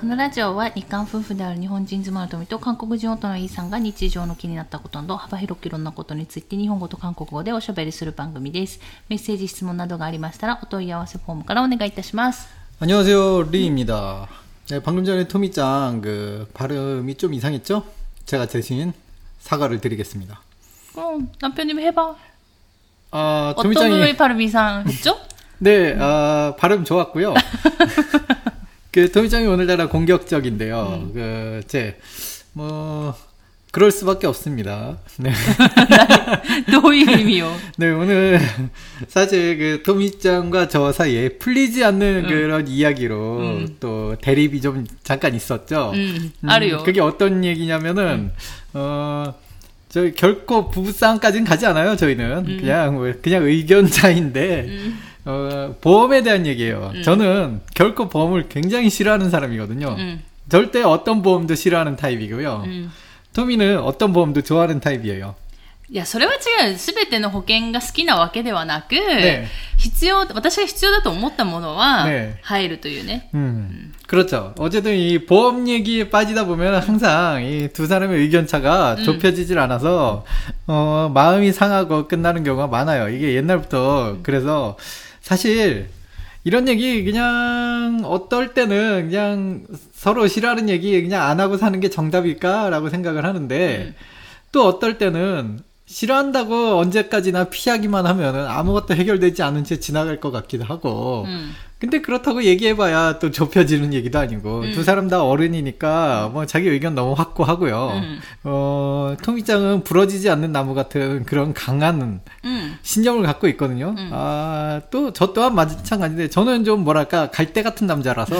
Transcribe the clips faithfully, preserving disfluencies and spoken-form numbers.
このラジオは日韓夫婦である日本人妻の富と韓国人夫のイさんが日常の気になったことなど幅広くいろんなことについて日本語と韓国語でおしゃべりする番組です。メッセージ質問などがありましたらお問い合わせフォームからお願いいたします。 안녕하세요, 리입니다. 네, 방금 전에 토미짱 그 발음이 좀 이상했죠? 제가 대신 사과를 드리겠습니다. 그럼 남편님 해봐. 아, 어떤 토미짱이 부분이 발음 이상했죠? 네, 아, 발음 좋았고요. 그 토미짱이 오늘따라 공격적인데요. 음. 그 제 뭐 그럴 수밖에 없습니다. 네. どういう意味よ? 네, 오늘 사실 그 토미짱과 저 사이에 풀리지 않는 음. 그런 이야기로 음. 또 대립이 좀 잠깐 있었죠. 음, 알아요. 음, 그게 어떤 얘기냐면은 음. 어 저희 결코 부부싸움까지는 가지 않아요. 저희는 음. 그냥 그냥 의견 차이인데 음. 어 보험에 대한 얘기예요. 음. 저는 결코 보험을 굉장히 싫어하는 사람이거든요. 음. 절대 어떤 보험도 싫어하는 타입이고요. 음. 토미는 어떤 보험도 좋아하는 타입이에요. いや、それは違う。すべての保険が好きなわけではなく、ね、必要、私が必要だと思ったものは入るというね。 네. 음. 음. 그렇죠. 어쨌든 이 보험 얘기에 빠지다 보면 항상 이 두 사람의 의견 차가 음. 좁혀지질 않아서 어, 마음이 상하고 끝나는 경우가 많아요. 이게 옛날부터 음. 그래서 사실 이런 얘기 그냥 어떨 때는 그냥 서로 싫어하는 얘기 그냥 안 하고 사는 게 정답일까라고 생각을 하는데 음. 또 어떨 때는 싫어한다고 언제까지나 피하기만 하면은 아무것도 해결되지 않은 채 지나갈 것 같기도 하고 음. 근데 그렇다고 얘기해봐야 또 좁혀지는 얘기도 아니고 음. 두 사람 다 어른이니까 뭐 자기 의견 너무 확고하고요. 음. 어, 토미짱은 부러지지 않는 나무 같은 그런 강한 음. 신념을 갖고 있거든요. 음. 아, 또 저 또한 마찬가지인데 저는 좀 뭐랄까 갈대 같은 남자라서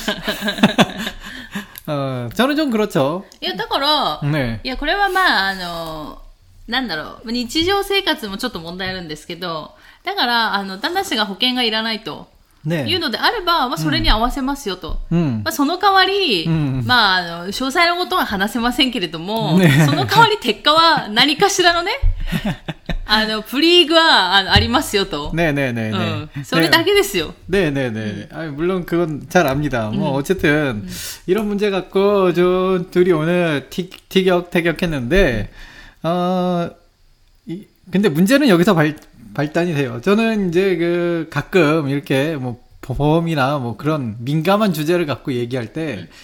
어, 저는 좀 그렇죠. いや、だから、ね、いや、これはまあ、あの、なんだろう、日常生活もちょっと問題あるんですけど、だから、あの、旦那氏が保険がいらないと。ね、いうのであれば、まあ、それに合わせますよと。うん、まあ、その代わり、うん、まあ、あの、詳細なことは話せませんけれども、ね、その代わり鉄火は何かしらのね、あの、プリーグは あ, ありますよと。 네네네. 응, それだけですよ. 네네네. 음. 아니, 물론 그건 잘 압니다. 음. 뭐, 어쨌든, 음. 이런 문제 갖고, 저, 둘이 오늘 티, 티격태격했는데, 어, 이, 근데 문제는 여기서 발, 발단이 돼요. 저는 이제 그, 가끔 이렇게 뭐, 보험이나 뭐 그런 민감한 주제를 갖고 얘기할 때, 음.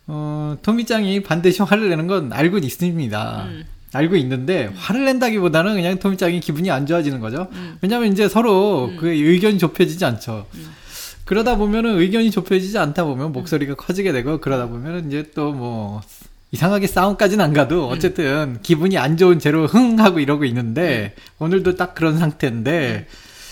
어, 토미짱이 반드시 화를 내는 건 알고 있습니다. 음. 알고 있는데 음. 화를 낸다기보다는 그냥 토미짱이 기분이 안 좋아지는 거죠. 음. 왜냐면 이제 서로 음. 그 의견이 좁혀지지 않죠. 음. 그러다 보면은 의견이 좁혀지지 않다 보면 목소리가 음. 커지게 되고 그러다 보면은 이제 또 뭐 이상하게 싸움까지는 안 가도 어쨌든 음. 기분이 안 좋은 채로 흥 하고 이러고 있는데 음. 오늘도 딱 그런 상태인데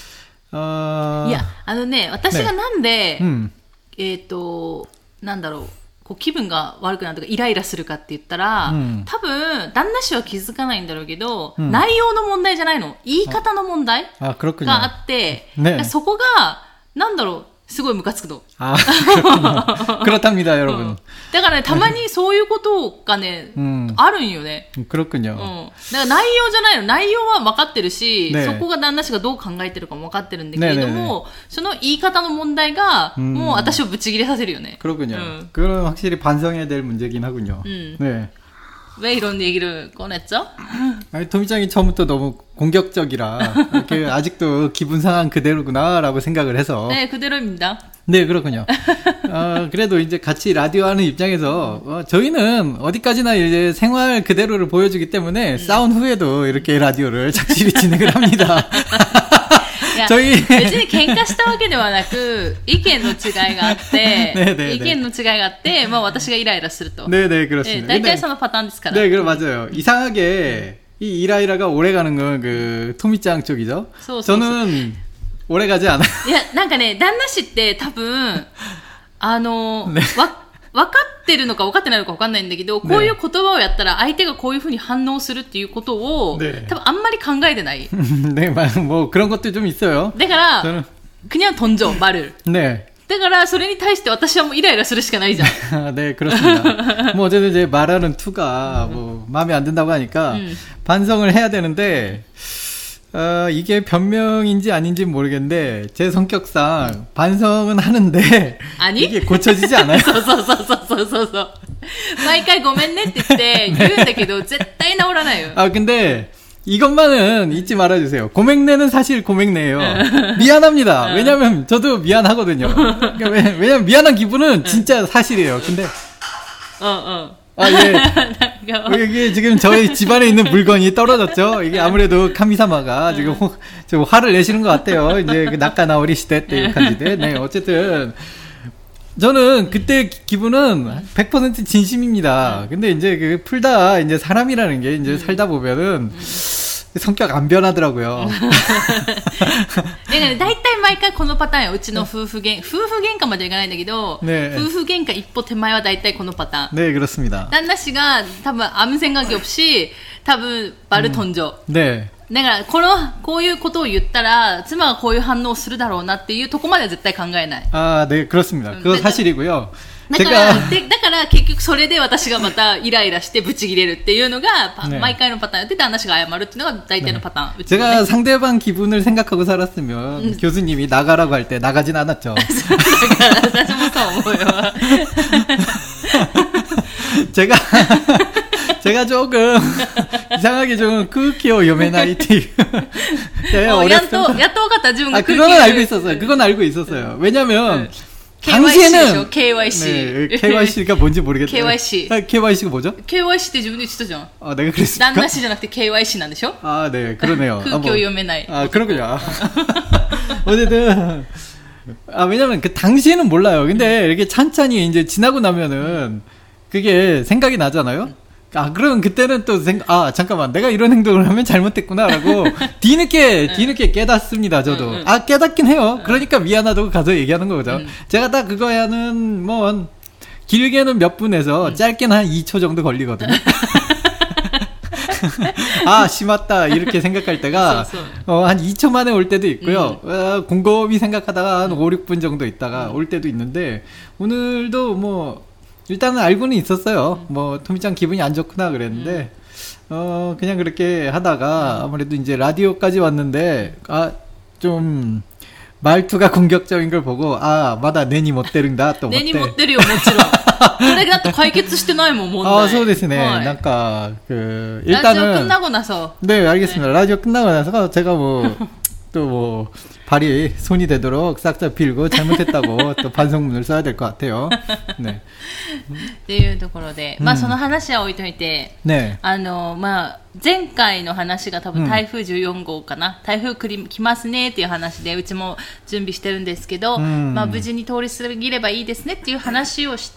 음. 어... いや、あのね、私がなんで、ね、うん、えっと、なんだろう。こう気分が悪くなるとかイライラするかって言ったら、うん、多分旦那氏は気づかないんだろうけど、うん、内容の問題じゃないの、言い方の問題があって、ね、そこがなんだろうすごいムカつくの。 あ、그렇답니다、여러분。うん、 だからね、たまにそういうことがね、うん、あるんよね。 그렇군요。 うん。だから内容じゃないの。内容は分かってるし、ね、そこが旦那氏がどう考えてるかも分かってるんだけれども、ねねね、その言い方の問題が、もう私をブチ切れさせるよね。 그렇군요。うん、그건 확실히 반성해야 될 문제긴 하군요。うん。ね。 왜 이런 얘기를 꺼냈죠? 아니, 토미짱이 처음부터 너무 공격적이라 이렇게 아직도 기분 상한 그대로구나라고 생각을 해서. 네, 그대로입니다. 네, 그렇군요. 어, 그래도 이제 같이 라디오 하는 입장에서 어, 저희는 어디까지나 이제 생활 그대로를 보여주기 때문에 음. 싸운 후에도 이렇게 라디오를 착실히 진행을 합니다. いや저희別に喧嘩したわけではなく意見の違いがあって意見の違いがあってまあ私がイライラすると 네네 그렇습니다. 大体そのパターンですから 네, 그럼 맞아요. 이상하게 이 이라이라가 오래 가는 건 그 토미짱 쪽이죠. 저는 오래 가지 않아요. いやなんかね旦那氏って多分あのわ分かってるのか分かってないのか分かんないんだけど、こういう言葉をやったら相手がこういう風に反応するっていうことを、네. 多分あんまり考えてない。 네, 뭐 그런 것도 좀 있어요. だから、저는... 그냥 던져 말을. 네. だからそれに対して私はもうイライラするしかないじゃん。 네, 그렇습니다. 뭐 어쨌든 이제 말하는 투가 뭐 마음에 안 든다고 하니까 음. 반성을 해야 되는데. 어, 이게 변명인지 아닌지 모르겠는데 제 성격상 반성은 하는데 아니? 이게 고쳐지지 않아요. そうそうそうそうそうそう。毎回ごめんねって言って言うんだけど絶対治らないよ。 아 근데 이것만은 잊지 말아주세요. 고맥내는 사실 고맥내예요. 미안합니다. 왜냐면 저도 미안하거든요. 그러니까 왜, 왜냐면 미안한 기분은 진짜 사실이에요. 근데 어, 어. 아, 예. 이게 지금 저희 집안에 있는 물건이 떨어졌죠. 이게 아무래도 카미사마가 지금 호, 좀 화를 내시는 것 같아요. 이제 그 낙가나오리 시대 때 간지대. 네, 어쨌든 저는 그때 기분은 백 퍼센트 진심입니다. 근데 이제 그 풀다 이제 사람이라는 게 이제 살다 보면은 성격 안 변하더라고요. だから大体毎回このパターンよ。うちの夫婦喧夫婦喧嘩までいかないんだけど、네. 夫婦喧嘩一歩手前は大体このパターン. 네, 그렇습니다. 旦那氏が多分아무 생각이 없이多分말을 던져. 네. だからこのこういうことを言ったら妻がこういう反応をするだろうなっていうとこまでは絶対考えない. 아, 네, 그렇습니다. 그거 사실이고요. だから、で、だから結局それで私がまたイライラしてブチ切れるっていうのが、네. 毎回のパターンで旦那氏が謝るっていうのが大体のパターン。 네. 제가 네. 상대방 기분을 생각하고 살았으면 음. 교수님이 나가라고 할 때 나가진 않았죠. だから私もそう思うよ。 제가 제가 조금 이상하게 좀空気を読めないっていう 네, 어, 어렸을 때. 야 또 같다 지금. 아, 그거는 알고 있었어요. 그건 알고 있었어요. 왜냐면 당시에는 케이와이씨. 네, 케이와이씨가 뭔지 모르겠어요. 케이와이씨. 아, 케이와이씨가 뭐죠? 케이와이씨 때自分で言ってたじゃん. 아, 내가 그랬을까? 旦那氏じゃなくて 케이와이씨 なんでしょ? 아, 네, 그러네요. 空気を読めない. 아, 그렇군요. 어쨌든 아, 왜냐면 그 당시에는 몰라요. 근데 이렇게 찬찬히 이제 지나고 나면은 그게 생각이 나잖아요. 아, 그러면 그때는 또 생각, 아, 잠깐만, 내가 이런 행동을 하면 잘못했구나라고 뒤늦게, 뒤늦게 깨닫습니다, 저도. 아, 깨닫긴 해요. 그러니까 미안하다고 가서 얘기하는 거죠. 제가 딱 그거야는, 뭐, 길게는 몇 분에서 짧게는 한 이 초 정도 걸리거든요. 아, 심았다, 이렇게 생각할 때가, 어, 한 이 초 만에 올 때도 있고요. 어, 곰곰이 생각하다가 한 오, 육 분 정도 있다가 올 때도 있는데, 오늘도 뭐, 일단은 알고는 있었어요. 뭐 토미짱 기분이 안 좋구나 그랬는데 음. 어 그냥 그렇게 하다가 아무래도 이제 라디오까지 왔는데 아 좀 말투가 공격적인 걸 보고 아 마다 내니 못 때린다 또 내니 못 때려もちろん. それだって解決してないもん問題. 아, そうですね. 뭔가 그 일단은 라디오 끝나고 나서. 네, 알겠습니다. 네. 라디오 끝나고 나서 제가 뭐 또 뭐 발이 손이 되도록 싹싹 빌고 잘못했다고 또 반성문을 써야 될 것 같아요. 네. っていうところで、まあその話は置いといて、ね、あのまあ前回の話が多分台風じゅうよん号かな、うん、台風来来ますねっていう話でうちも準備してるんですけど、うん、まあ無事に通り過ぎればいいですねっていう話をして、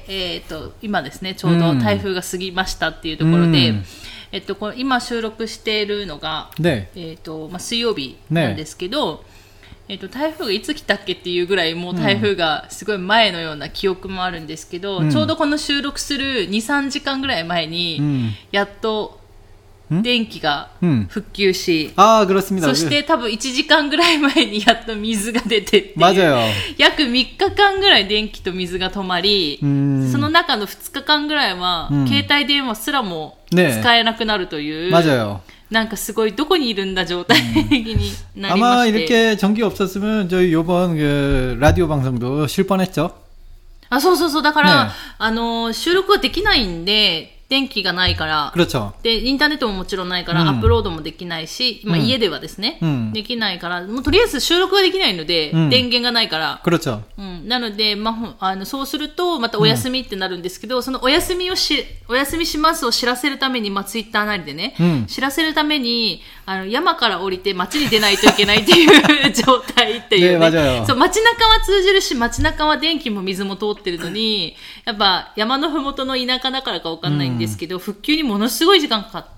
えっと今ですねちょうど台風が過ぎましたっていうところで。うん、えっと、これ今収録しているのが、ね、えっとまあ、水曜日なんですけど、ね、えっと、台風がいつ来たっけっていうぐらいもう台風がすごい前のような記憶もあるんですけど、うん、ちょうどこの収録する にさんじかんぐらい前に、うん、やっと電気が復旧し、うん、あ、그렇습니다。そして多分いちじかんぐらい前にやっと水が出てっていう約みっかかんぐらい電気と水が止まり、その中のふつかかんぐらいは携帯電話すらも使えなくなるという、맞아요。なんかすごいどこにいるんだ状態になりまして。 아마 이렇게 전기 없었으면 저희 요번 그 라디오 방송도 쉴 뻔했죠. 아, そうそうそう。だから、ね、あの収録はできないんで。電気がないから。 그렇죠。 で、インターネットももちろんないから、アップロードもできないし、まあ家ではですね、うん、できないから、もうとりあえず収録ができないので、うん、電源がないから。 그렇죠。 うん。なので、まあ、あの、そうすると、またお休みってなるんですけど、うん、そのお休みをし、お休みしますを知らせるために、まあツイッターなりでね、うん、知らせるために、あの、山から降りて街に出ないといけないっていう状態っていうね。ね、そう、街中は通じるし、街中は電気も水も通ってるのに、やっぱ山のふもとの田舎だからかわかんないんですけど、うん、復旧にものすごい時間かかって、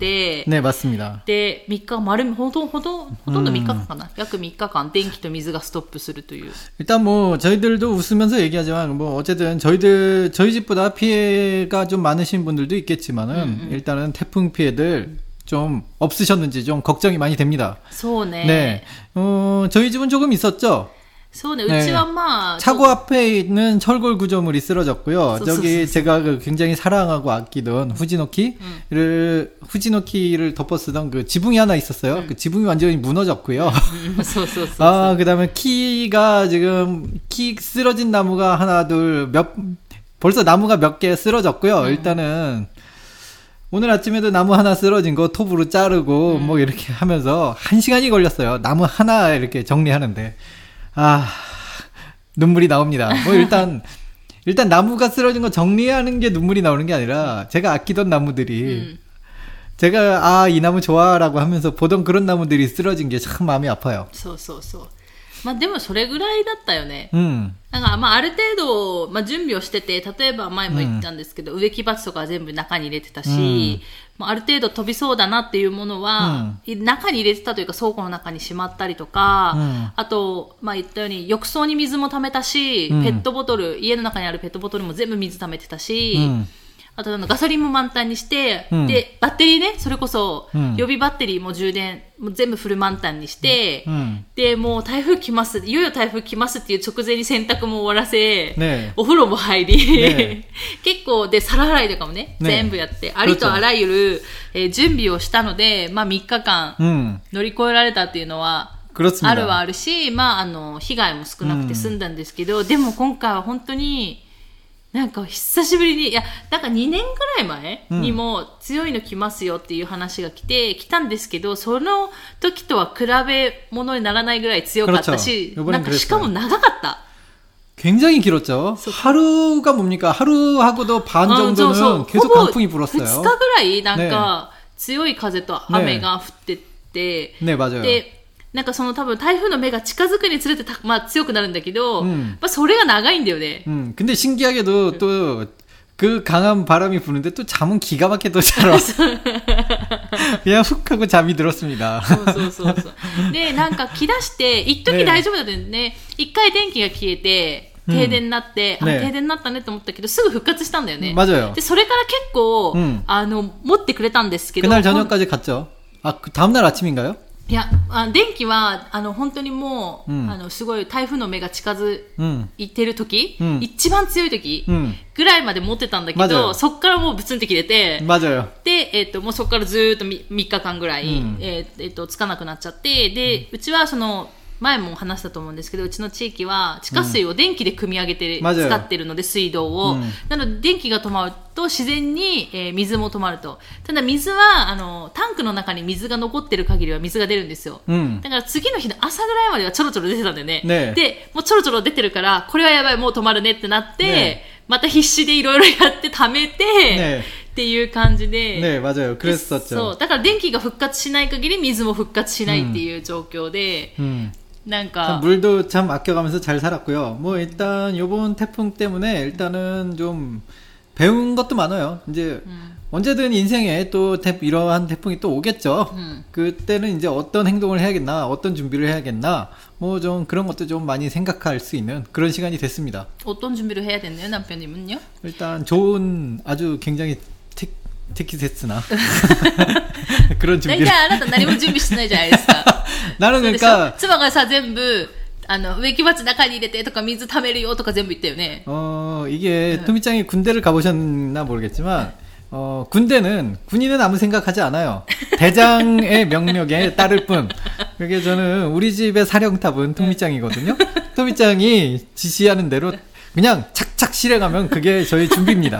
ね、맞습니다。 で、みっか、丸、ほとんど、ほとんどみっかかんかな。約みっかかん電気と水がストップするという。 일단 뭐 저희들도 웃으면서 얘기하지만 뭐 어쨌든 저희들 저희 집보다 피해가 좀 많으신 분들도 있겠지만은 음, 음. 일단은 태풍 피해들 좀 없으셨는지 좀 걱정이 많이 됩니다. そうね。 네. 어, 저희 집은 조금 있었죠. そうね, 네. 우치와 차고 앞에 있는 철골 구조물이 쓰러졌고요. 소, 저기 소, 소, 제가 그 굉장히 사랑하고 아끼던 후지노키를 음. 후지노키를 덮어 쓰던 그 지붕이 하나 있었어요. 음. 그 지붕이 완전히 무너졌고요. 음. 소, 소, 소, 아, 그다음에 키가 지금 키 쓰러진 나무가 하나 둘 몇 벌써 나무가 몇 개 쓰러졌고요. 음. 일단은 오늘 아침에도 나무 하나 쓰러진 거 톱으로 자르고 음. 뭐 이렇게 하면서 한 시간이 걸렸어요. 나무 하나 이렇게 정리하는데. 아, 눈물이 나옵니다. 뭐 일단 일단 나무가 쓰러진 거 정리하는 게 눈물이 나오는 게 아니라 제가 아끼던 나무들이 음. 제가 아, 이 나무 좋아라고 하면서 보던 그런 나무들이 쓰러진 게 참 마음이 아파요. そうそうそう。まあでもそれぐらいだったよね。 うん。 なんかまあある程度、まあ、準備をしてて、例えば前も言ったんですけど、うん、植木鉢とか全部中に入れてたし、うんまあ、ある程度飛びそうだなっていうものは、うん、中に入れてたというか倉庫の中にしまったりとか、うん、あと、まあ言ったように浴槽に水も溜めたし、うん、ペットボトル、家の中にあるペットボトルも全部水溜めてたし、うんあとあのガソリンも満タンにして、うん、で、バッテリーね、それこそ、うん、予備バッテリーも充電、もう全部フル満タンにして、うん、で、もう台風来ます、いよいよ台風来ますっていう直前に洗濯も終わらせ、ね、お風呂も入り、ね、結構、で、皿洗いとかもね、ね全部やって、ありとあらゆる、えー、準備をしたので、まあみっかかん乗り越えられたっていうのは、あるはあるし、まああの、被害も少なくて済んだんですけど、うん、でも今回は本当に、なんか久しぶりに、いや、なんかにねんぐらい前にも強いの来ますよっていう話が来て、来たんですけど、その時とは比べ物にならないぐらい強かったし、なんかしかも長かった。 굉장히 길었죠. 하루가 뭡니까? 하루하고도 반 정도는 계속 강풍이 불었어요. ふつかぐらいなんか強い風と雨が降ってて、 ね、맞아요. でなんかその多分台風の目が近づくにつれてた、まあ強くなるんだけど、うん、まあそれが長いんだよね。 음, 근데 신기하게도 또 그 강한 바람이 부는데 또 잠은 기가 막히게 잘 와. 그냥 훅 하고 잠이 들었습니다. そうそうそうそう。で、なんか来だして、一時大丈夫だったんね。一回電気が消えて、停電になって、うん、あ、ね、停電になったねと思ったけど、すぐ復活したんだよね。 맞아요。 で、それから結構、うん、あの、持ってくれたんですけど。 그날 저녁까지 갔죠. 아, 그 다음날 아침인가요? いや、あ電気は、あの、本当にもう、うん、あの、すごい台風の目が近づいてる時、うん、一番強い時、うん、ぐらいまで持ってたんだけど、そっからもうブツンって切れて、で、えっと、もうそっからずーっと 3, 3日間ぐらい、うん、えー、えー、と、つかなくなっちゃって、で、うちはその、前も話したと思うんですけど、うちの地域は地下水を電気で汲み上げて、うん、使ってるので、水道を、うん、なので電気が止まると自然に、えー、水も止まると。ただ水はあのタンクの中に水が残ってる限りは水が出るんですよ、うん、だから次の日の朝ぐらいまではちょろちょろ出てたんだよ ね, ねでもうちょろちょろ出てるからこれはやばいもう止まるねってなって、ね、また必死でいろいろやって貯めて、ねっていう感じで。 ね、맞아요。그랬었죠。 そう。だから電気が復活しない限り水も復活しないっていう状況で、うんうんなんか 물도 참 아껴가면서 잘 살았고요. 뭐 일단 요번 태풍 때문에 일단은 좀 배운 것도 많아요. 이제 음. 언제든 인생에 또 태, 이러한 태풍이 또 오겠죠. 음. 그때는 이제 어떤 행동을 해야겠나, 어떤 준비를 해야겠나, 뭐 좀 그런 것도 좀 많이 생각할 수 있는 그런 시간이 됐습니다. 어떤 준비를 해야 됐나요, 남편님은요? 일단 좋은 아주 굉장히 티, 티키세스나 그런 준비를. 大体あなた何も準備してないじゃないですか。 나는 그러니까 妻がさ全部あの植木鉢中に入れてとか水溜めるよとか全部言ったよね. 어 이게 응. 토미짱이 군대를 가보셨나 모르겠지만 어 군대는 군인은 아무 생각하지 않아요. 대장의 명령에 따를 뿐. 그게 저는 우리 집의 사령탑은 토미짱이거든요. 토미짱이 지시하는 대로 그냥 착착 실행하면 그게 저희 준비입니다.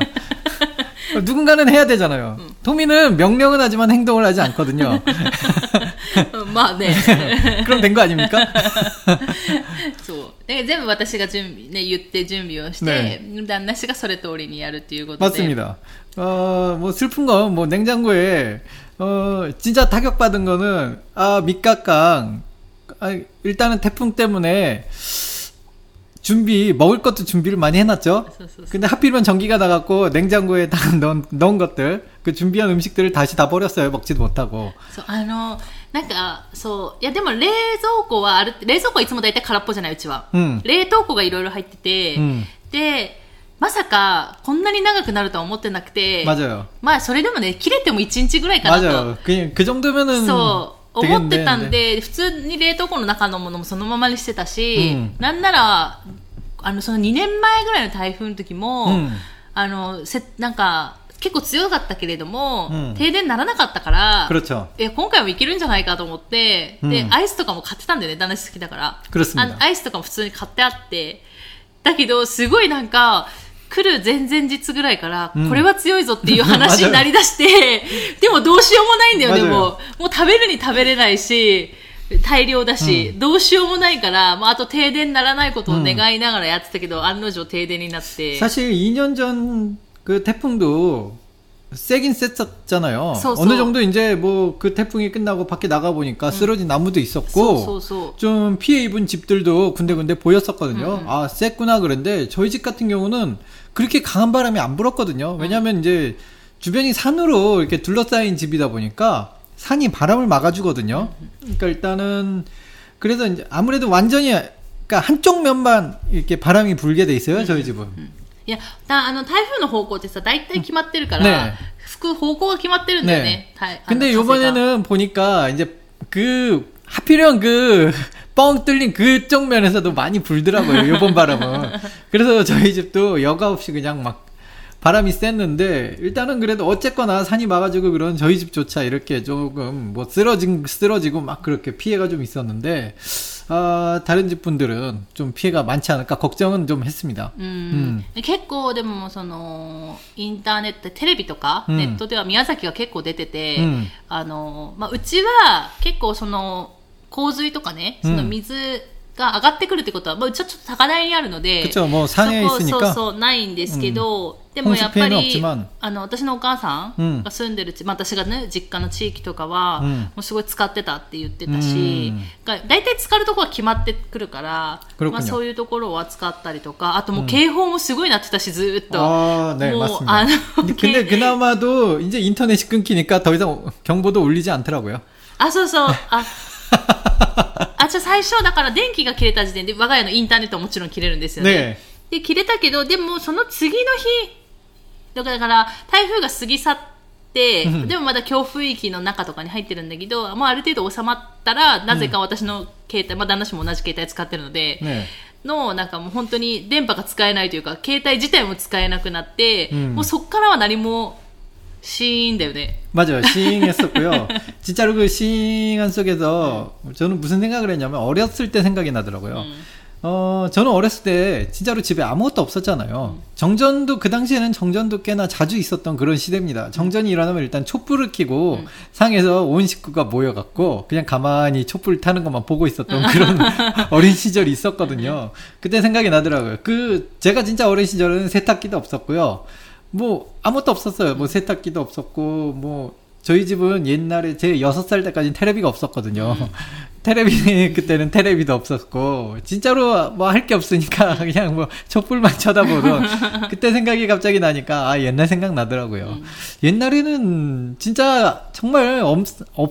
누군가는 해야 되잖아요. 응. 토미는 명령은 하지만 행동을 하지 않거든요. 마, 네. 그럼 된 거 아닙니까? そう。で全部私が準備ね言って準備をして、네. 旦那氏がそれ通りにやるということで. 맞습니다. 어, 뭐 슬픈 건 뭐 냉장고에 어 진짜 타격 받은 거는 아 밑각강. 아, 일단은 태풍 때문에. 준비 먹을 것도 준비를 많이 해놨죠. 근데 하필이면 전기가 나갔고 냉장고에 다 넣은, 넣은 것들 그 준비한 음식들을 다시 다 버렸어요. 먹지도 못하고. そうあのなんかそういやでも冷蔵庫はある冷蔵庫はいつも大体空っぽじゃないうちは、うん、冷凍庫がいろいろ入ってて、うん、でまさかこんなに長くなるとは思ってなくて 맞아요. まあそれでもね切れてもいちにちぐらいかなと 맞아요. 그, 그 정도면은 思ってたんで、普通に冷凍庫の中のものもそのままにしてたし、うん、なんなら、あの、そのにねんまえぐらいの台風の時も、うん、あの、せ、なんか、結構強かったけれども、うん、停電ならなかったから、え今回もいけるんじゃないかと思って、うん、で、アイスとかも買ってたんだよね、旦那好きだから。あアイスとかも普通に買ってあって、だけど、すごいなんか、来る前々日ぐらいから、うん、これは強いぞっていう話になりだして、でもどうしようもないんだよね、もう。もう食べるに食べれないし、大量だし、うん、どうしようもないから、まあ、あと停電にならないことを願いながらやってたけど、うん、案の定停電になって。 사실 이 년 전 그 태풍도 세긴 셌었잖아요. 어느 정도 이제 뭐 그 태풍이 끝나고 밖에 나가 보니까 쓰러진 나무도 있었고 좀 피해 입은 집들도 군데군데 보였었거든요. 음. 아, 셌구나 그런데 저희 집 같은 경우는 그렇게 강한 바람이 안 불었거든요. 왜냐하면 이제 주변이 산으로 이렇게 둘러싸인 집이다 보니까 산이 바람을 막아주거든요. 그러니까 일단은 그래서 이제 아무래도 완전히 그러니까 한쪽 면만 이렇게 바람이 불게 돼 있어요. 저희 집은. いや、あの、台風の方向ってさ、大体決まってるから、ね、吹く方向が決まってるんだよね。 네. 근데 요번에는 보니까 이제 그 하필이면 그 뻥 뚫린 그쪽 면에서도 많이 불더라고요. 요번 바람은. 그래서 저희 집도 여과 없이 그냥 막 바람이 셌는데 일단은 그래도 어쨌거나 산이 막아주고 그런 저희 집조차 이렇게 조금 뭐 쓰러진 쓰러지고 막 그렇게 피해가 좀 있었는데 아, 다른 집 분들은 좀 피해가 많지 않을까 걱정은 좀 했습니다. 음, 음. 結構でもそのインターネットテレビとかネットでは宮崎が結構出てて、うん、あのまあうちは結構その洪水とかね、その水が上がってくるってことは、まあうちはちょっと高台にあるので、 그쵸、もう산에 있으니까、 そうそうないんですけど。うんでもやっぱりあの私のお母さんが住んでる、うん、まあ、私がね実家の地域とかは、うん、もうすごい使ってたって言ってたし、だいたい使うところは決まってくるから、まあ、そういうところを扱ったりとか、あともう警報もすごいなってたし、ずっと。 あ、네、もうあの근데 그나마도 이제 인터넷이 끊기니까 더 이상 경보도 울리지 않더라고요. あ、そうそう。ああ、じゃあ最初だから電気が切れた時点で我が家のインターネットはもちろん切れるんですよね。ねで切れたけど、でもその次の日だから台風が過ぎ去って、うん、でもまだ強風域の中とかに入ってるんだけど、もうある程度収まったら、なぜか私の携帯、うん、まあ旦那氏も同じ携帯使ってるので、ね、のなんかもう本当に電波が使えないというか、携帯自体も使えなくなって、うん、もうそっからは何もシーンだよね。 맞아요. 시잉했었고요. 진짜로 그 시잉한 속에서 저는 무슨 생각을 했냐면 어렸을 때 생각이 나더라고요. 음. 어, 저는 어렸을 때 진짜로 집에 아무것도 없었잖아요. 음. 정전도 그 당시에는 정전도 꽤나 자주 있었던 그런 시대입니다. 정전이 일어나면 일단 촛불을 켜고 음. 상에서 온 식구가 모여갖고 그냥 가만히 촛불 타는 것만 보고 있었던 그런 어린 시절이 있었거든요. 그때 생각이 나더라고요. 그 제가 진짜 어린 시절은 세탁기도 없었고요. 뭐 아무것도 없었어요. 뭐 세탁기도 없었고 뭐 저희 집은 옛날에 제 여섯 살 때까지는 테레비가 없었거든요. 음. 테레비 그때는 테레비도 없었고 진짜로 뭐 할 게 없으니까 그냥 뭐 촛불만 쳐다보던 그때 생각이 갑자기 나니까 아 옛날 생각 나더라고요. 음. 옛날에는 진짜 정말 없,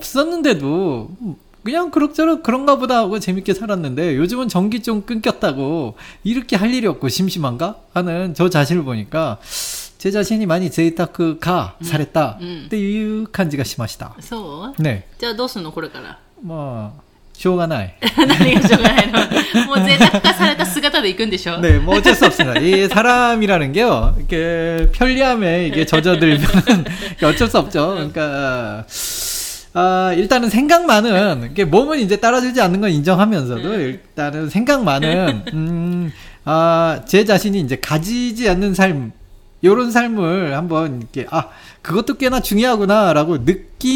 없었는데도 그냥 그럭저럭 그런가 보다 하고 재밌게 살았는데 요즘은 전기 좀 끊겼다고 이렇게 할 일이 없고 심심한가 하는 저 자신을 보니까 제 자신이 많이 제이타크가 음. 잘했다っていう感じがしました。 そう？ね。じゃあどうするのこれから？ まあしょうがない。 何がしょうがないの？もう贅沢化された姿で行くんでしょ? 네, 뭐 어쩔 수 없습니다. 이 사람이라는 게요, 이게 편리함에 이게 젖어들면 어쩔 수 없죠. 그러니까 아, 일단은 생각만은 이게 몸은 이제 따라주지 않는 건 인정하면서도 일단은 생각만은 음, 아, 제 자신이 이제 가지지 않는 삶. 요런 삶을 한번 이렇게 아 그것도 꽤나 중요하구나라고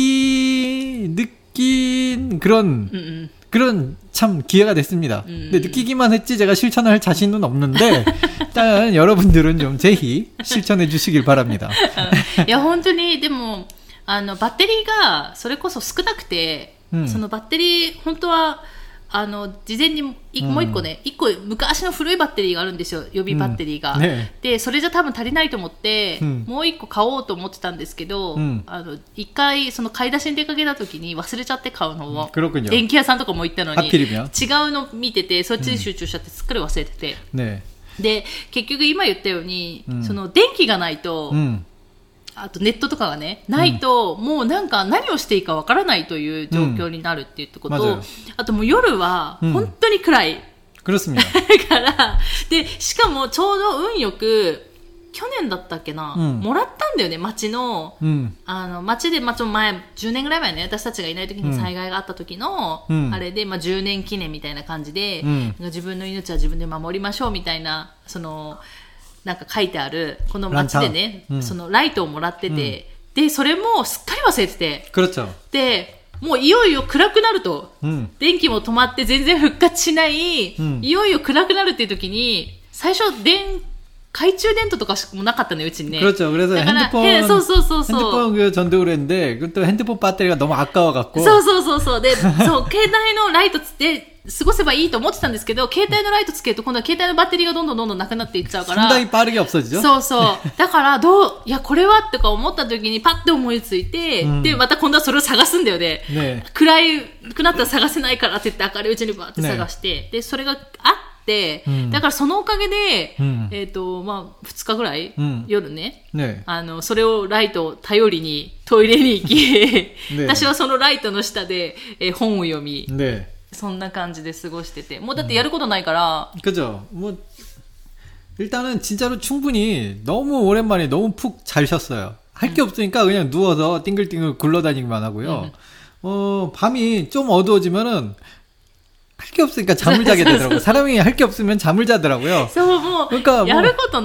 느끼 느낀 그런 음. 그런 참 기회가 됐습니다. 음. 근데 느끼기만 했지 제가 실천할 자신은 없는데 일단 여러분들은 좀 제히 실천해 주시길 바랍니다. いや本当にでもあのバッテリーがそれこそ少なくて、そのバッテリー本当はあの事前にもう一個ね、一個昔の古いバッテリーがあるんですよ、予備バッテリーが、うんね、でそれじゃ多分足りないと思って、うん、もう一個買おうと思ってたんですけど、うん、あの一回その買い出しに出かけた時に忘れちゃって買うのを、うん、電気屋さんとかも行ったのに違うの見ててそっちに集中しちゃってすっかり忘れてて、うんね、で結局今言ったように、うん、その電気がないと、うんあとネットとかがね、ないと、もうなんか何をしていいかわからないという状況になるっていうこと、うん、あともう夜は本当に暗い。うん、 그렇습니다. だから、で、しかもちょうど運よく、去年だったっけな、うん、もらったんだよね、町の、うん、あの、町で、まあ、ちょっと前、じゅうねんぐらい前ね、私たちがいない時に災害があった時の、うん、あれで、まあ、じゅうねん記念みたいな感じで、うん、自分の命は自分で守りましょうみたいな、その、なんか書いてある、この町でね、うん、そのライトをもらってて、うん、で、それもすっかり忘れてて、で、もういよいよ暗くなると、うん、電気も止まって全然復活しない、うん、いよいよ暗くなるっていう時に、最初、電、懐中電灯とかしかもなかったのよ、うちにね。 그렇죠. 그래서 핸드폰, そうそうそうそう。 핸드폰 그 전등을 했는데, 또 핸드폰 배터리가 너무 아까워갖고. そうそうそうそう。で、そう、携帯のライトつって、過ごせばいいと思ってたんですけど、携帯のライトつけると今度は携帯のバッテリーがどんどんどんどんなくなっていっちゃうから。 상당히빠르게없어지죠。 そうそう。だからどう、いやこれはとか思った時にパッて思いついて、うん、でまた今度はそれを探すんだよね。ね、暗いくなったら探せないからって言って明るいうちにバーって探して、ね、でそれがあって、うん、だからそのおかげで、うん、えっ、ー、とまあふつかぐらい、うん、夜ね、ね、あのそれをライトを頼りにトイレに行き、ね、私はそのライトの下で、えー、本を読み。ね、そんな感じで過ごしてて、もうだってやることないから。 그죠. 뭐 일단은 진짜로 충분히 너무 오랜만에 너무 푹 잘 쉬었어요. 할 게 없으니까 그냥 누워서 띵글띵글 굴러다니기만 하고요. 음. 어, 밤이 좀 어두워지면은 할 게 없으니까 잠을 자게 되더라고요. 사람이 할 게 없으면 잠을 자더라고요. 그러니까 뭐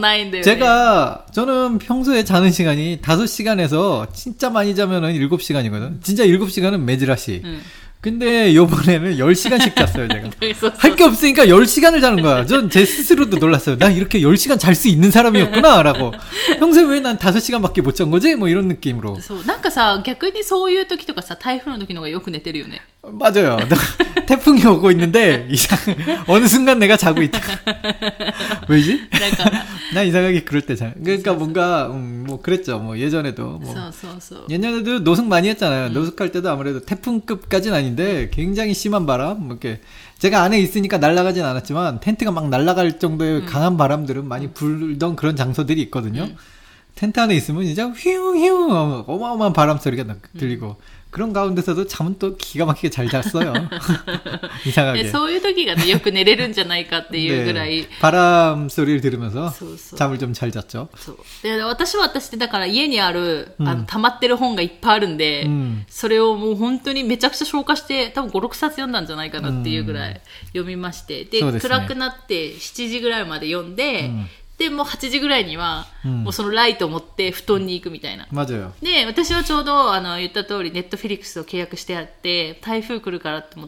제가 저는 평소에 자는 시간이 다섯 시간에서 진짜 많이 자면은 일곱 시간이거든. 진짜 일곱 시간은 매지라시. 음. 근데 요번에는 열 시간씩 잤어요, 제가. 할 게 없으니까 열 시간을 자는 거야. 전 제 스스로도 놀랐어요. 나 이렇게 열 시간 잘 수 있는 사람이었구나, 라고. 평소에 왜 난 다섯 시간밖에 못 잔 거지? 뭐 이런 느낌으로. なんかさ、逆にそういう時とかさ、台風の時の方がよく寝てるよね. 맞아요. 태풍이 오고 있는데 이상 어느 순간 내가 자고 있다. 왜지? 나 이상하게 그럴 때 자. 그러니까 뭔가 음, 뭐 그랬죠. 뭐 예전에도 뭐 예전에도 노숙 많이 했잖아요. 음. 노숙할 때도 아무래도 태풍급까지는 아닌데 굉장히 심한 바람, 뭐 이렇게 제가 안에 있으니까 날아가진 않았지만 텐트가 막 날아갈 정도의 음. 강한 바람들은 많이 불던 그런 장소들이 있거든요. 음. 텐트 안에 있으면 진짜 휘웅휘웅 어마어마한 바람 소리가 들리고. 음. 그런 가운데서도 잠은 또 기가 막히게 잘 잤어요. 이상하게. そういう時がね、よく寝れるんじゃないかっていうぐらい。 네, 바람 소리를 들으면서 そうそう 잠을 좀 잘 잤죠. そうで私は私でだから家にある、うん、あの溜まってる本がいっぱいあるんで、うん、それをもう本当にめちゃくちゃ消化して多分ご、ろくさつ読んだんじゃないかなっていうぐらい読みまして、で、ね、暗くなってしちじぐらいまで読んで、うんで、もうはちじぐらいには、もうそのライトを持って布団に行くみたいな。 맞아요。 で、私はちょうど、あの、言った通り、ネットフィリックスを契約してあって、台風来るからって思って、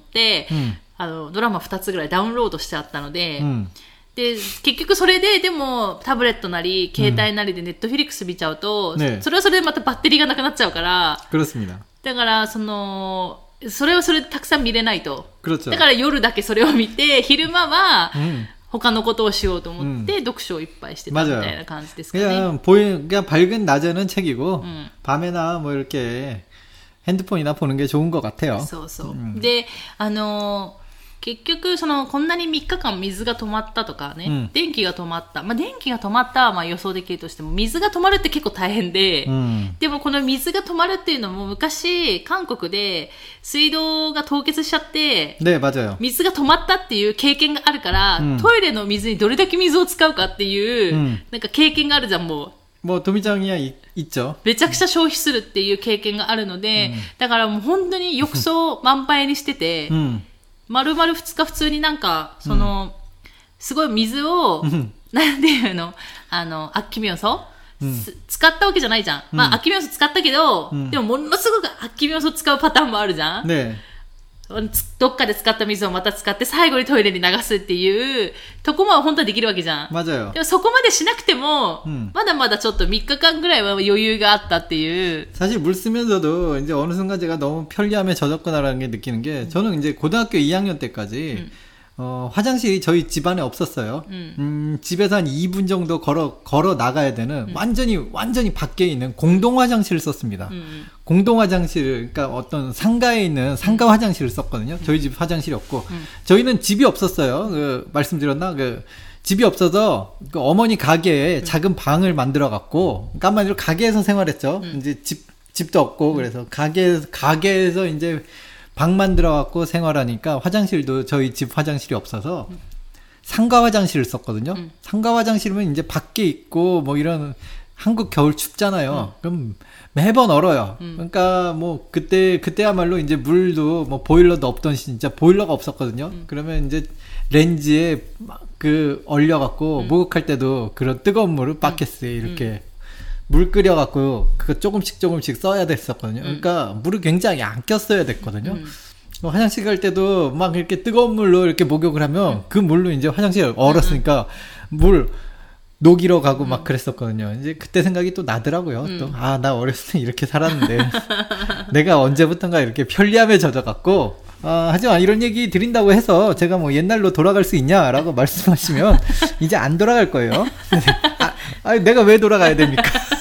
うん、あの、ドラマふたつぐらいダウンロードしてあったので、うん、で、結局それで、でも、タブレットなり、携帯なりでネットフィリックス見ちゃうと、ね、それはそれでまたバッテリーがなくなっちゃうから、 그렇습니다。 だから、その、それはそれでたくさん見れないと。だから夜だけそれを見て、昼間は、うん他のことをしようと思って、うん、読書をいっぱいしてたみたいな感じですかね. 그냥 보이, 그냥 밝은 낮에는 책이고, 음. 밤에나 뭐 이렇게 핸드폰이나 보는 게 좋은 것 같아요. そうそう。で、あのー、結局、その、こんなにみっかかん水が止まったとかね、うん、電気が止まった。まあ、電気が止まったはまあ予想できるとしても、水が止まるって結構大変で、うん、でもこの水が止まるっていうのも昔、韓国で水道が凍結しちゃって、 ね、맞아요。 水が止まったっていう経験があるから、うん、トイレの水にどれだけ水を使うかっていう、うん、なんか経験があるじゃん、もう。 もう、トミちゃんには一丁めちゃくちゃ消費するっていう経験があるので、うん、だからもう本当に浴槽満杯にしてて、うん丸々ふつか普通になんか、その、うん、すごい水を、うん、なんていうのあの、アッキミヨソ、うん、使ったわけじゃないじゃん。うん、まあ、アッキミヨソ使ったけど、うん、でもものすごくアッキミヨソ使うパターンもあるじゃん。ねどっかで使った水をまた使って最後にトイレに流すっていうとこも本当はできるわけじゃん。 맞아요。 でもそこまでしなくても、うん、まだまだちょっとみっかかんぐらいは余裕があったっていう。 사실 물 쓰면서도 이제 어느 순간 제가 너무 편리함에 젖었구나라는 게 느끼는 게 저는 이제 고등학교 이 학년 때까지 음. 어, 화장실이 저희 집안에 없었어요. 음. 음, 집에서 한 이 분 정도 걸어, 걸어 나가야 되는 음. 완전히, 완전히 밖에 있는 공동 화장실을 썼습니다. 음. 공동 화장실, 그러니까 어떤 상가에 있는 상가 화장실을 썼거든요. 저희 집 화장실이 없고. 음. 저희는 집이 없었어요. 그, 말씀드렸나? 그, 집이 없어서 그 어머니 가게에 음. 작은 방을 만들어 갖고, 그러니까 한마디로 가게에서 생활했죠. 음. 이제 집, 집도 없고, 그래서 가게, 가게에서 이제 방 만들어갖고 생활하니까 화장실도 저희 집 화장실이 없어서 음. 상가 화장실을 썼거든요. 음. 상가 화장실은 이제 밖에 있고 뭐 이런 한국 겨울 춥잖아요. 음. 그럼 매번 얼어요. 음. 그러니까 뭐 그때 그때야말로 이제 물도 뭐 보일러도 없던 진짜 보일러가 없었거든요. 음. 그러면 이제 렌즈에 그 얼려갖고 음. 목욕할 때도 그런 뜨거운 물을 바켓스에 이렇게 음. 물 끓여갖고 그거 조금씩 조금씩 써야 됐었거든요. 그러니까 음. 물을 굉장히 안 꼈어야 됐거든요. 음. 화장실 갈 때도 막 이렇게 뜨거운 물로 이렇게 목욕을 하면 음. 그 물로 이제 화장실 얼었으니까 음. 물 녹이러 가고 음. 막 그랬었거든요. 이제 그때 생각이 또 나더라고요. 음. 또 아, 나 어렸을 때 이렇게 살았는데 내가 언제부턴가 이렇게 편리함에 젖어갖고 아, 하지만 이런 얘기 드린다고 해서 제가 뭐 옛날로 돌아갈 수 있냐라고 말씀하시면 이제 안 돌아갈 거예요. 아, 아니, 내가 왜 돌아가야 됩니까?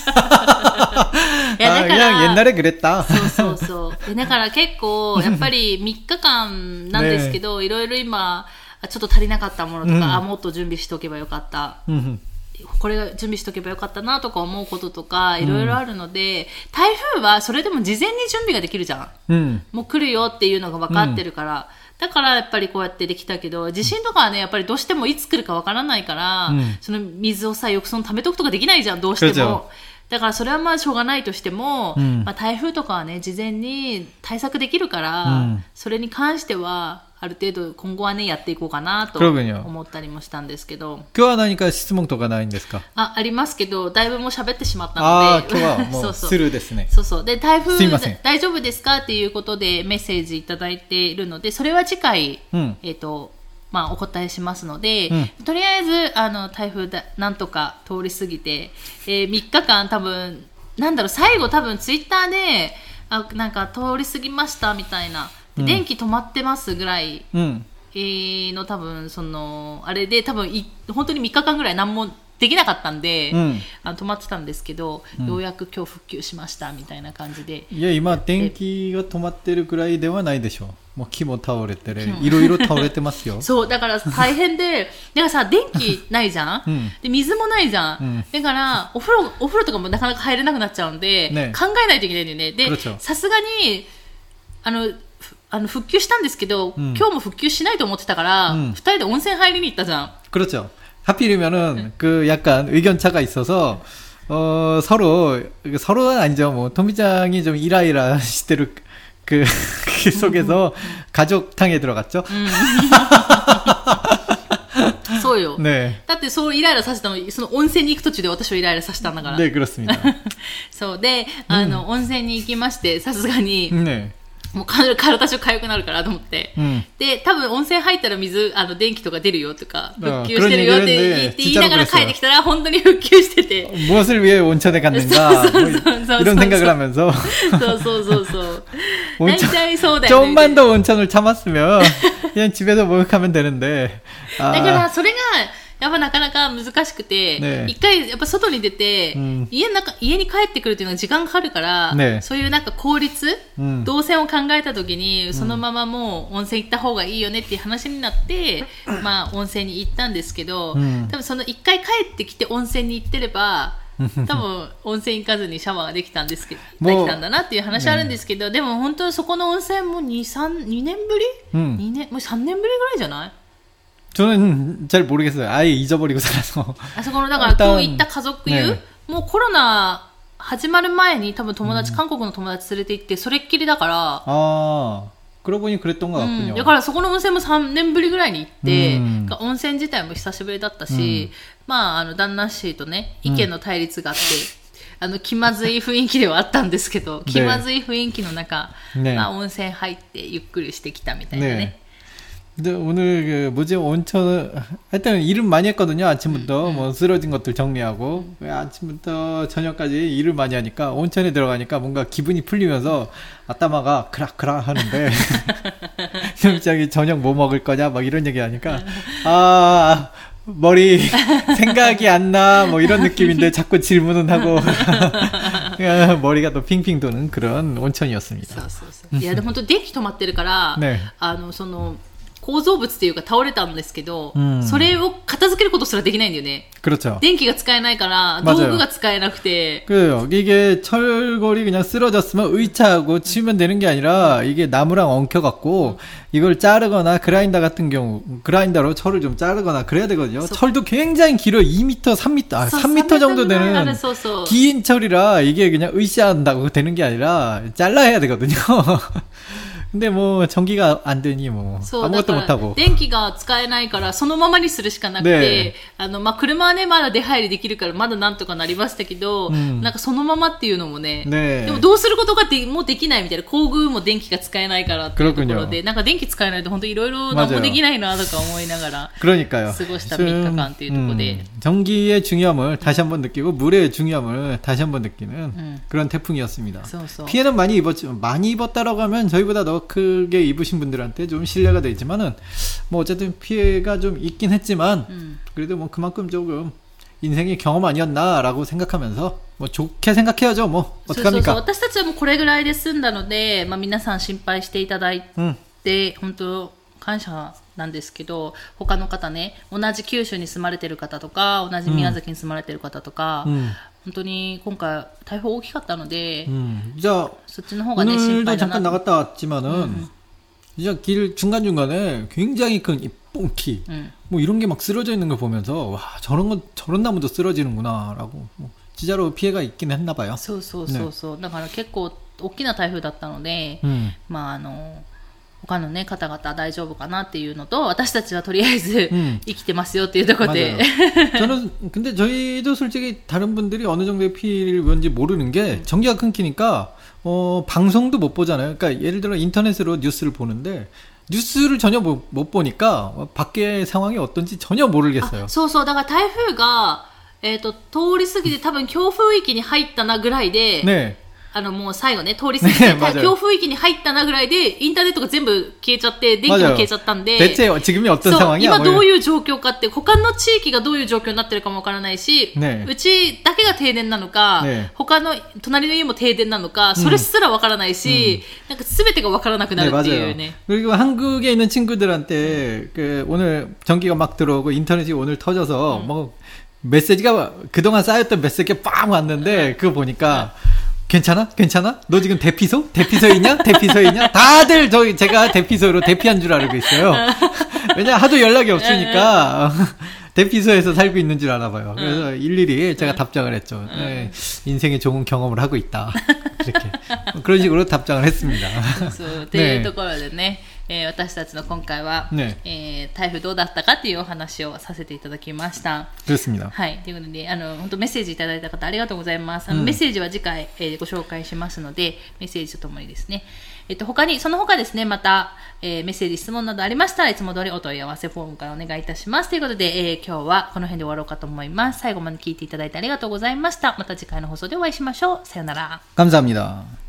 아, 그냥 옛날에 그랬다. そうそうそう。だから結構やっぱりみっかかんなんですけど、いろいろ今ちょっと足りなかったものとか、あ、もっと準備しておけばよかった。これが準備しておけばよかったなとか思うこととかいろいろあるので、台風はそれでも事前に準備ができるじゃん。うん、もう来るよっていうのが分かってるから。だからやっぱりこうやってできたけど、地震とかはね、やっぱりどうしてもいつ来るかわからないから、うん、その水をさ、浴槽に溜めとくとかできないじゃん、どうしても。だからそれはまあしょうがないとしても、うん、まあ、台風とかはね、事前に対策できるから、うん、それに関しては、ある程度今後はね、やっていこうかなと思ったりもしたんですけど。 今日は何か質問とかないんですか？ あ、ありますけど、だいぶもう喋ってしまったので。 あ、今日はもうスルーですね。 そうそう。で、台風大丈夫ですかっていうことでメッセージいただいているので、それは次回、うん、えっと、まあ、お答えしますので、うん、とりあえず、あの、台風だ、なんとか通り過ぎて、えー、みっかかん多分、なんだろう、最後多分ツイッターで、あ、なんか通り過ぎましたみたいな、うん、電気止まってますぐらい、うん、えー、の多分、その、あれで多分い、本当にみっかかんぐらい何もできなかったんで、うん、あの止まってたんですけど、うん、ようやく今日復旧しましたみたいな感じで。 いや、今、電気が止まってるくらいではないでしょう。もう木も倒れてね、いろいろ倒れてますよ。 そう、だから大変で、だからさ、電気ないじゃん、うん、で水もないじゃん、うん、だからお風呂、お風呂とかもなかなか入れなくなっちゃうんで、ね、考えないといけないんだよね。で、さすがに、あの、あの復旧したんですけど、うん、今日も復旧しないと思ってたから、うん、ふたりで温泉入りに行ったじゃん。 그렇죠。 하필이면은 그 약간 의견차가 있어서 어, 서로 서로는 아니죠. 뭐 토미짱이 좀 이라이라 시대로 그, 그 속에서 가족탕에 들어갔죠. そうよ。ね。だってそうイライラさせたの、その温泉に行く途中で私をイライラさせたんだから。 ね、그렇습니다。 そうで、あの、うん、温泉に行きまして、さすがに。ね。もう体中痒くなるからと思って、うん、で多分温泉入ったら水あの電気とか出るよとか復旧してるよって言いながら帰ってきたら本当に復旧してて 무엇을 위해 온천에 갔는가 이런 생각을 하면서 そうそうそうそう大体そうだよね 좀만 더 온천을 참았으면 그냥 집에서 목욕하면 되는데 だからそれがやっぱなかなか難しくて、ね、一回やっぱ外に出て、うん、家の中、家に帰ってくるっていうのが時間かかるから、ね、そういうなんか効率、うん、動線を考えた時に、そのままもう温泉行った方がいいよねっていう話になって、うん、まあ温泉に行ったんですけど、うん、多分その一回帰ってきて温泉に行ってれば、多分温泉行かずにシャワーができたんですけど、できたんだなっていう話あるんですけど、ね、でも本当にそこの温泉もに、さん、にねんぶり、うん、にねん、もうさんねんぶりぐらいじゃない 저는 잘 모르겠어요. 아예 잊어버리고 살아서. あそこのだから今日行った家族湯、ね、もうコロナ始まる前に多分友達、うん、韓国の友達連れて行ってそれっきりだから。 あ그러고 보니 그랬던 것 같군요. うん、だからそこの温泉もさんねんぶりぐらいに行って、うん、温泉自体も久しぶりだったし、うん、まああの旦那氏とね意見の対立があって。うん、あの気まずい雰囲気ではあったんですけど、気まずい雰囲気の中、ねまあ、温泉入ってゆっくりしてきたみたいなね。ね 근데 오늘 그 뭐지 온천 하여튼 일은 많이 했거든요. 아침부터 음, 뭐 쓰러진 것들 정리하고 음. 아침부터 저녁까지 일을 많이 하니까 온천에 들어가니까 뭔가 기분이 풀리면서 아따마가 크락크락 하는데 갑자기 저녁 뭐 먹을 거냐 막 이런 얘기 하니까 아 머리 생각이 안 나 뭐 이런 느낌인데 자꾸 질문은 하고 머리가 또 핑핑 도는 그런 온천이었습니다. そうそうそう。いやでも本当電気止まってるから、ね、あのその構造物っていうか倒れたんですけど、うん、それを片付けることすらできないんだよね。 그렇죠. 電気が使えないから道具が使えなくて。 그래요. 이게 철골이 그냥 쓰러졌으면 의차하고 치우면 되는 게 아니라 이게 나무랑 엉켜갖고 이걸 자르거나 그라인더 같은 경우 그라인더로 철을 좀 자르거나 그래야 되거든요. 소... 철도 굉장히 길어. 이 미터, 삼 미터, 아, 삼 미터 정도 되는 긴 철이라 이게 그냥 의시한다고 되는 게 아니라 잘라야 되거든요. 근데 뭐 전기가 안 되니 뭐 아무것도 못 하고 電気が使えないからそのままにするしかなくて、あのまあ車はねまだ出入りできるからまだなんとかなりましたけど、うん、なんかそのままっていうのも ね, ねでもどうすることがでもうできないみたいな工具も電気が使えないからっていうところでなんか電気使えないと本当いろいろ何もできないなとか思いながら過ごしたみっかかんっていうところで、 음, 전기의 중요함을 다시 한번 느끼고 물의 중요함을 다시 한번 느끼는 음. 그런 태풍이었습니다. そうそう 피해는 많이 입었지만 많이 입었다라고 하면 저희보다 더 크게 입으신 분들한테 좀 신뢰가 되지만은 뭐 어쨌든 피해가 좀 있긴 했지만 음. 그래도 뭐 그만큼 조금 인생의 경험 아니었나라고 생각하면서 뭐 좋게 생각해야죠. 뭐 어떡합니까? 私たちはもうこれぐらいで済んだので、まあ皆さん心配していただいて、本当感謝なんですけど、他の方ね、同じ九州に住まれてる方とか、同じ宮崎に住まれてる方とか、うん、本当に今回台風大きかったので、うん、じゃあそっちの方がね心配だな。 오늘도 잠깐 나갔다 왔지만은 음. 진짜 길 중간중간에 굉장히 큰 이 뽕키 음. 뭐 이런 게 막 쓰러져 있는 걸 보면서 와 저런 거 저런 나무도 쓰러지는구나라고 뭐 진짜로 피해가 있긴 했나 봐요. そうそうそうそう。だから結構大きな台風だったので、うん、まああの他のね方々大丈夫かなっていうのと私たちはとりあえず生きてますよっていうところで、 저는 근데 저희도 솔직히 다른 분들이 어느 정도의 피해를 입었는지 모르는 게 전기가 끊기니까 어 방송도 못 보잖아요. 그러니까 예를 들어 인터넷으로 뉴스를 보는데 뉴스를 전혀 못, 못 보니까 밖의 상황이 어떤지 전혀 모르겠어요. そうそうだから台風がえっと通り過ぎて多分強風域に入ったなぐらいで、ねあのもう最後ね通り過ぎて強風域に入ったなぐらいでインターネットが全部消えちゃって電気も消えちゃったんで、そう今どういう状況かって他の地域がどういう状況になってるかもわからないし、ね、うちだけが停電なのか、ね、他の隣の家も停電なのかそれすらわからないし、うん、なんか全てがわからなくなるっていうね。 그리고 한국에 있는 친구들한테 그 오늘 전기가 막 들어오고 인터넷이 오늘 터져서 음. 뭐 메시지가 그동안 쌓였던 메시지가 빵 왔는데 그거 보니까 괜찮아? 괜찮아? 너 지금 대피소? 대피소이냐? 대피소이냐? 다들 저희 제가 대피소로 대피한 줄 알고 있어요. 왜냐 하도 연락이 없으니까 대피소에서 살고 있는 줄 아나 봐요. 그래서 일일이 제가 답장을 했죠. 네, 인생의 좋은 경험을 하고 있다. 이렇게 그런 식으로 답장을 했습니다. というところでね、えー、私たちの今回は、ねえー、台風どうだったかっていうお話をさせていただきました。 그렇습니다。 はい。ということで、あの本当メッセージいただいた方ありがとうございます。あの、うん、メッセージは次回、えー、ご紹介しますので、メッセージとともにですね。えっと他にその他ですねまた、えー、メッセージ質問などありましたらいつも通りお問い合わせフォームからお願いいたしますということで、えー、今日はこの辺で終わろうかと思います。最後まで聞いていただいてありがとうございました。また次回の放送でお会いしましょう。さよなら。 감사합니다。